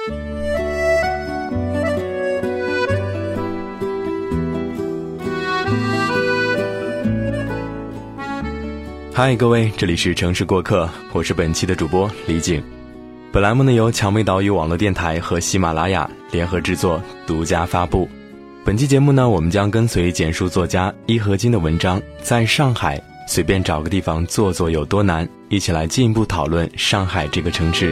嗨，各位，这里是城市过客，我是本期的主播李景。本栏目呢由蔷薇岛屿网络电台和喜马拉雅联合制作，独家发布。本期节目呢，我们将跟随简书作家伊和金的文章，在上海随便找个地方坐坐有多难，一起来进一步讨论上海这个城市。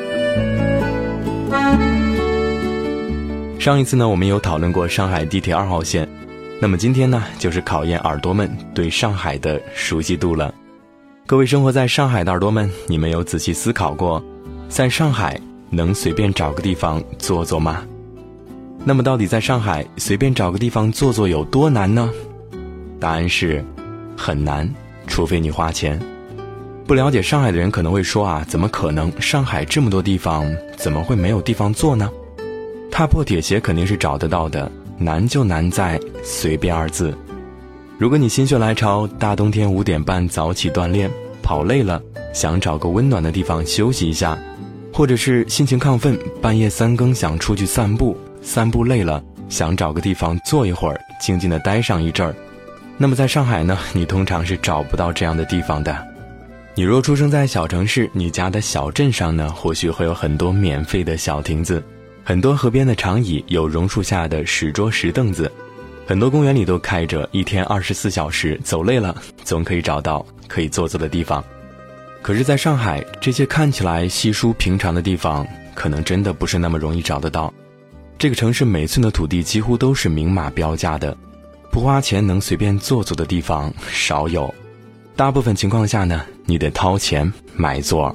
上一次呢，我们有讨论过上海地铁2号线，那么今天呢，就是考验耳朵们对上海的熟悉度了。各位生活在上海的耳朵们，你们有仔细思考过，在上海能随便找个地方坐坐吗？那么到底在上海随便找个地方坐坐有多难呢？答案是很难，除非你花钱。不了解上海的人可能会说啊，怎么可能？上海这么多地方，怎么会没有地方坐呢？踏破铁鞋肯定是找得到的，难就难在随便2字。如果你心血来潮，大冬天5点半早起锻炼，跑累了，想找个温暖的地方休息一下，或者是心情亢奋，半夜3更想出去散步，散步累了，想找个地方坐一会儿，静静地待上一阵儿，那么在上海呢，你通常是找不到这样的地方的。你若出生在小城市，你家的小镇上呢，或许会有很多免费的小亭子，很多河边的长椅，有榕树下的石桌石凳子，很多公园里都开着，一天24小时，走累了总可以找到可以坐坐的地方。可是在上海，这些看起来稀疏平常的地方，可能真的不是那么容易找得到。这个城市每寸的土地几乎都是明码标价的，不花钱能随便坐坐的地方少有，大部分情况下呢，你得掏钱买座。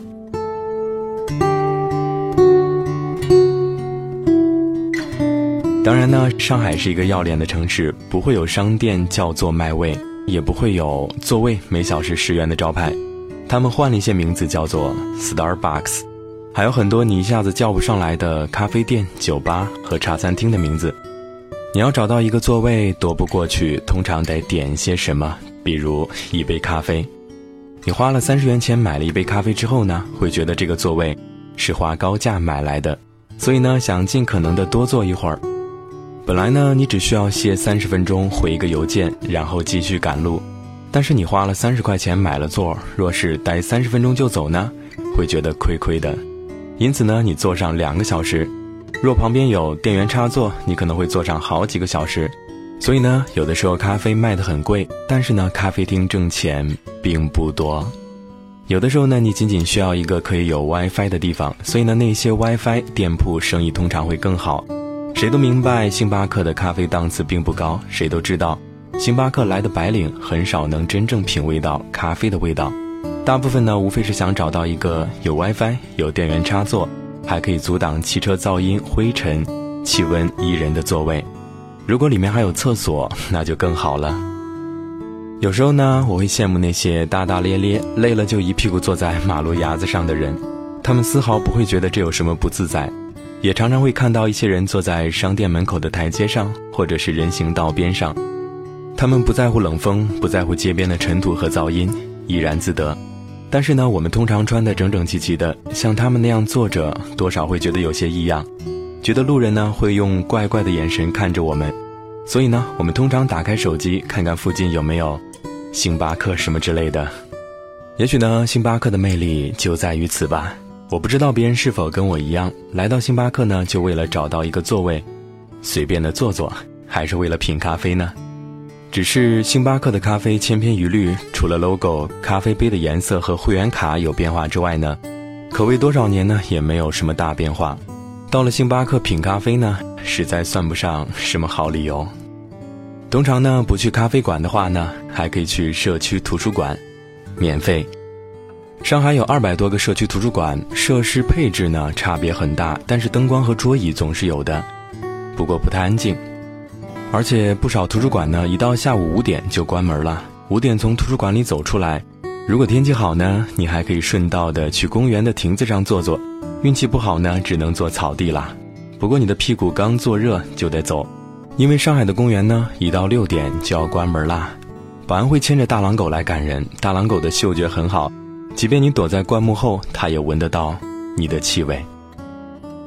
当然呢，上海是一个要脸的城市，不会有商店叫做卖位，也不会有座位每小时10元的招牌，他们换了一些名字叫做 Starbucks， 还有很多你一下子叫不上来的咖啡店、酒吧和茶餐厅的名字。你要找到一个座位踱步过去，通常得点些什么，比如一杯咖啡。你花了30元钱买了一杯咖啡之后呢，会觉得这个座位是花高价买来的，所以呢，想尽可能的多坐一会儿。本来呢，你只需要歇30分钟回一个邮件，然后继续赶路，但是你花了30块钱买了座，若是待30分钟就走呢，会觉得亏亏的。因此呢，你坐上2个小时，若旁边有电源插座，你可能会坐上好几个小时。所以呢，有的时候咖啡卖得很贵，但是呢，咖啡厅挣钱并不多。有的时候呢，你仅仅需要一个可以有 WiFi 的地方，所以呢，那些 WiFi 店铺生意通常会更好。谁都明白星巴克的咖啡档次并不高，谁都知道星巴克来的白领很少能真正品味到咖啡的味道，大部分呢无非是想找到一个有 WiFi 有电源插座，还可以阻挡汽车噪音、灰尘、气温宜人的座位。如果里面还有厕所，那就更好了。有时候呢，我会羡慕那些大大咧咧累了就一屁股坐在马路牙子上的人，他们丝毫不会觉得这有什么不自在。也常常会看到一些人坐在商店门口的台阶上，或者是人行道边上，他们不在乎冷风，不在乎街边的尘土和噪音，怡然自得。但是呢，我们通常穿得整整齐齐的，像他们那样坐着，多少会觉得有些异样，觉得路人呢会用怪怪的眼神看着我们。所以呢，我们通常打开手机看看附近有没有星巴克什么之类的。也许呢，星巴克的魅力就在于此吧。我不知道别人是否跟我一样，来到星巴克呢，就为了找到一个座位，随便的坐坐，还是为了品咖啡呢？只是星巴克的咖啡千篇一律，除了 logo、咖啡杯的颜色和会员卡有变化之外呢，口味多少年呢，也没有什么大变化。到了星巴克品咖啡呢，实在算不上什么好理由。通常呢，不去咖啡馆的话呢，还可以去社区图书馆，免费。上海有200多个社区图书馆，设施配置呢差别很大，但是灯光和桌椅总是有的，不过不太安静。而且不少图书馆呢，一到下午5点就关门了。5点从图书馆里走出来，如果天气好呢，你还可以顺道的去公园的亭子上坐坐，运气不好呢，只能坐草地啦。不过你的屁股刚坐热就得走，因为上海的公园呢，一到6点就要关门啦。保安会牵着大狼狗来赶人，大狼狗的嗅觉很好，即便你躲在灌木后，它也闻得到你的气味。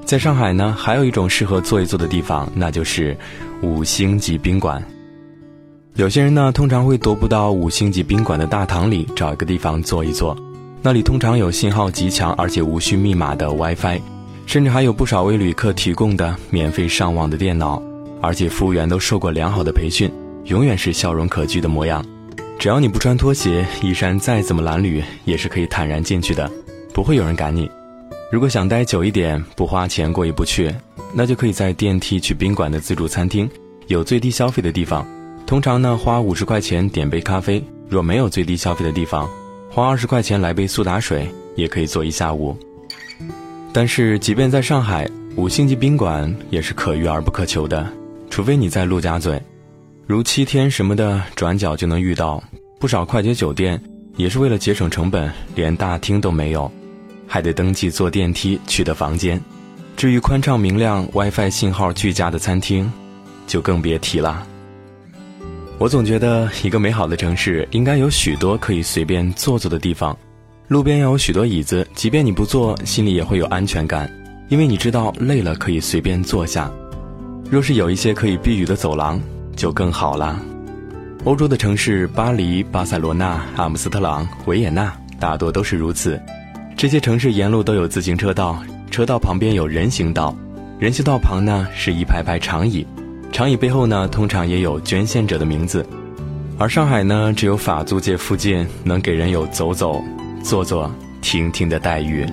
在上海呢，还有一种适合坐一坐的地方，那就是5星级宾馆。有些人呢，通常会踱步到5星级宾馆的大堂里，找一个地方坐一坐。那里通常有信号极强而且无需密码的 WiFi， 甚至还有不少为旅客提供的免费上网的电脑，而且服务员都受过良好的培训，永远是笑容可掬的模样。只要你不穿拖鞋，衣衫再怎么褴褛，也是可以坦然进去的，不会有人赶你。如果想待久一点，不花钱过意不去，那就可以在电梯去宾馆的自助餐厅，有最低消费的地方，通常呢花50块钱点杯咖啡，若没有最低消费的地方，花20块钱来杯苏打水，也可以坐一下午。但是即便在上海，5星级宾馆也是可遇而不可求的，除非你在陆家嘴，如7天什么的转角就能遇到。不少快捷酒店也是为了节省成本，连大厅都没有，还得登记坐电梯去的房间。至于宽敞明亮 WiFi 信号俱佳的餐厅，就更别提了。我总觉得一个美好的城市应该有许多可以随便坐坐的地方，路边要有许多椅子，即便你不坐，心里也会有安全感，因为你知道累了可以随便坐下。若是有一些可以避雨的走廊，就更好了。欧洲的城市巴黎、巴塞罗那、阿姆斯特朗、维也纳大多都是如此。这些城市沿路都有自行车道，车道旁边有人行道，人行道旁呢是一排排长椅，长椅背后呢通常也有捐献者的名字。而上海呢，只有法租界附近能给人有走走、坐坐、听听的待遇。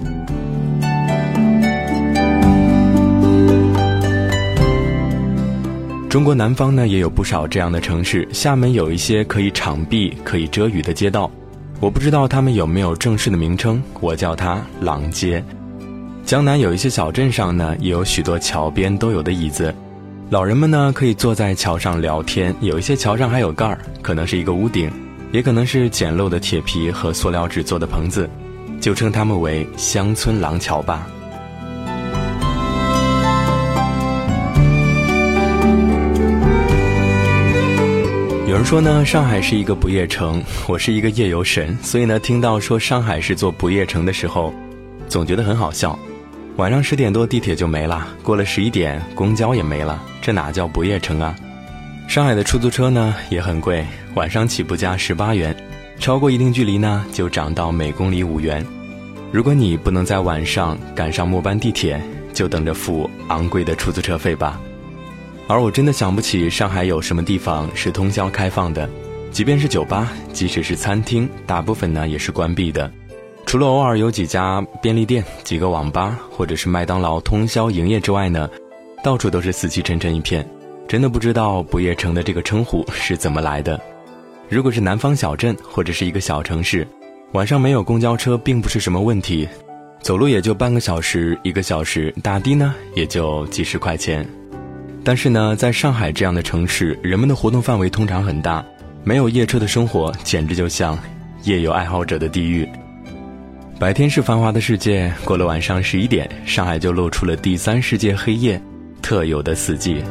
中国南方呢也有不少这样的城市，厦门有一些可以敞壁、可以遮雨的街道，我不知道他们有没有正式的名称，我叫它廊街。江南有一些小镇上呢，也有许多桥边都有的椅子，老人们呢可以坐在桥上聊天，有一些桥上还有盖儿，可能是一个屋顶，也可能是简陋的铁皮和塑料纸做的棚子，就称它们为乡村廊桥吧。有人说呢，上海是一个不夜城，我是一个夜游神，所以呢，听到说上海是座不夜城的时候，总觉得很好笑。晚上10点多地铁就没了，过了11点公交也没了，这哪叫不夜城啊？上海的出租车呢也很贵，晚上起步价18元，超过一定距离呢就涨到每公里5元。如果你不能在晚上赶上末班地铁，就等着付昂贵的出租车费吧。而我真的想不起上海有什么地方是通宵开放的，即便是酒吧，即使是餐厅，大部分呢也是关闭的。除了偶尔有几家便利店、几个网吧或者是麦当劳通宵营业之外呢，到处都是死气沉沉一片。真的不知道不夜城的这个称呼是怎么来的。如果是南方小镇或者是一个小城市，晚上没有公交车并不是什么问题，走路也就半个小时、1个小时，打的呢也就几十块钱。但是呢，在上海这样的城市，人们的活动范围通常很大，没有夜车的生活简直就像夜游爱好者的地狱。白天是繁华的世界，过了晚上11点，上海就露出了第3世界黑夜特有的死寂。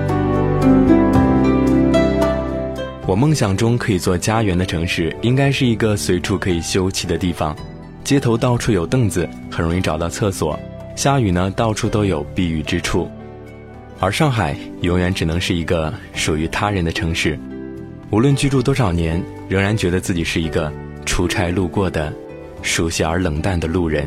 我梦想中可以做家园的城市，应该是一个随处可以休憩的地方，街头到处有凳子，很容易找到厕所，下雨呢到处都有避雨之处。而上海永远只能是一个属于他人的城市，无论居住多少年，仍然觉得自己是一个出差路过的熟悉而冷淡的路人。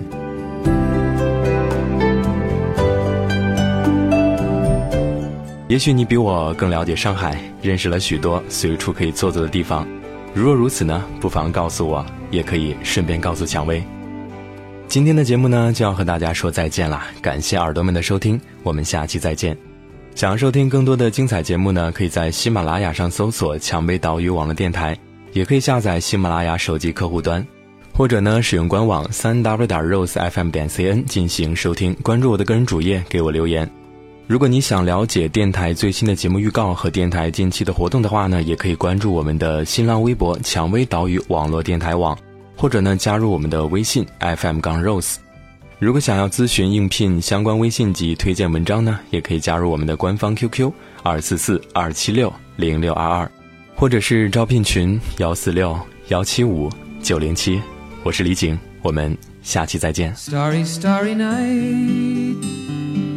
也许你比我更了解上海，认识了许多随处可以坐坐的地方，如若如此呢，不妨告诉我，也可以顺便告诉蔷薇。今天的节目呢就要和大家说再见了，感谢耳朵们的收听，我们下期再见。想要收听更多的精彩节目呢，可以在喜马拉雅上搜索蔷薇岛屿网络电台，也可以下载喜马拉雅手机客户端，或者呢使用官网 3w.rosefm.cn 进行收听。关注我的个人主页，给我留言。如果你想了解电台最新的节目预告和电台近期的活动的话呢，也可以关注我们的新浪微博蔷薇岛屿网络电台网，或者呢加入我们的微信 FM-Rose。如果想要咨询应聘相关微信及推荐文章呢，也可以加入我们的官方 QQ 244-276-0622，或者是招聘群146-175-907。我是李景，我们下期再见。 Starry, starry night,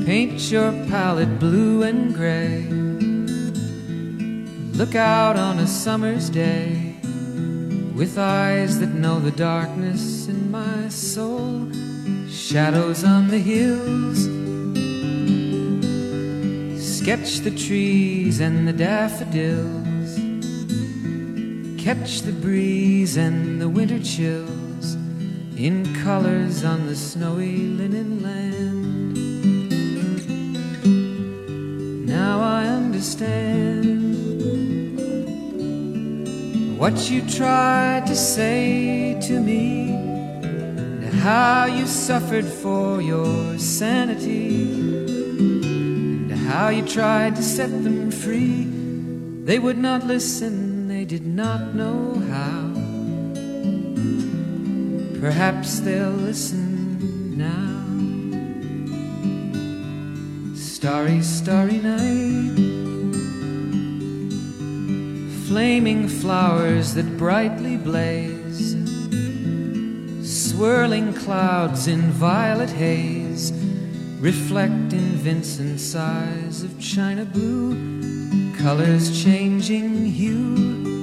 Paint your palette blue and gray. Look out on a summer's day with eyes that know the darkness in my soul. Shadows on the hills. Sketch the trees and the daffodils. Catch the breeze and the winter chills in colors on the snowy linen land. Now I understand what you tried to say to me, and how you suffered for your sanity, and how you tried to set them free. They would not listen, they did not know how. Perhaps they'll listen now. Starry, starry night. Flaming flowers that brightly blaze. Swirling clouds in violet haze reflect in Vincent's eyes of china blue, colors changing hue.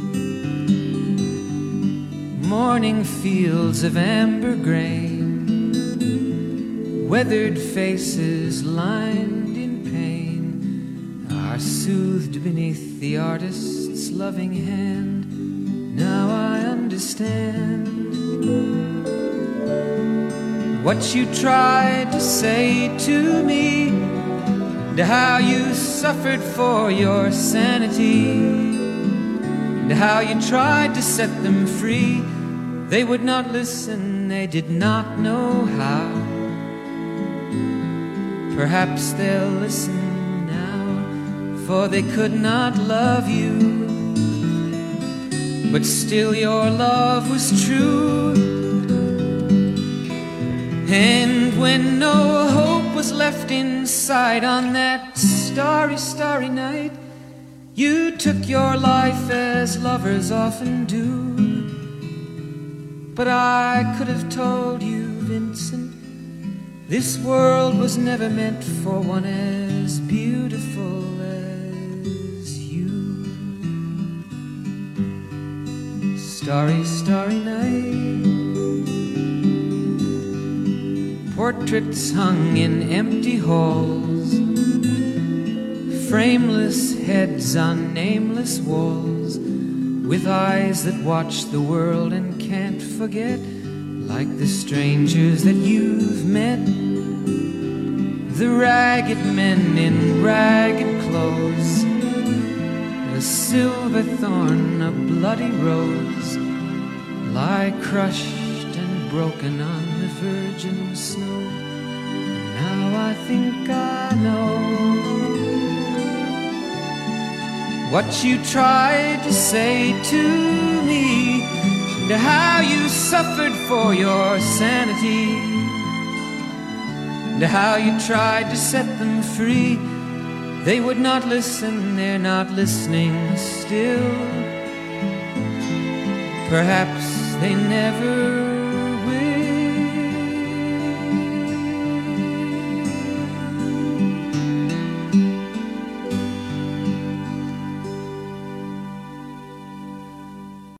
Morning fields of amber grain, weathered faces lined in pain, are soothed beneath the artist's loving hand. Now I understand what you tried to say to me, and how you suffered for your sanity, and how you tried to set them free. They would not listen, they did not know how. Perhaps they'll listen now, for they could not love you, but still your love was true. And when no hope was left inside on that starry, starry night, you took your life as lovers often do. But I could have told you, Vincent, this world was never meant for one as beautiful as you. Starry, starry night. Portraits hung in empty halls, frameless heads on nameless walls, with eyes that watch the world and can't forget, like the strangers that you've met. The ragged men in ragged clothes, a silver thorn, a bloody rose, lie crushed and broken on the virgin snow. Now I think I know what you tried to say to me, and how you suffered for your sanity, and how you tried to set them free. They would not listen, they're not listening still. Perhaps they never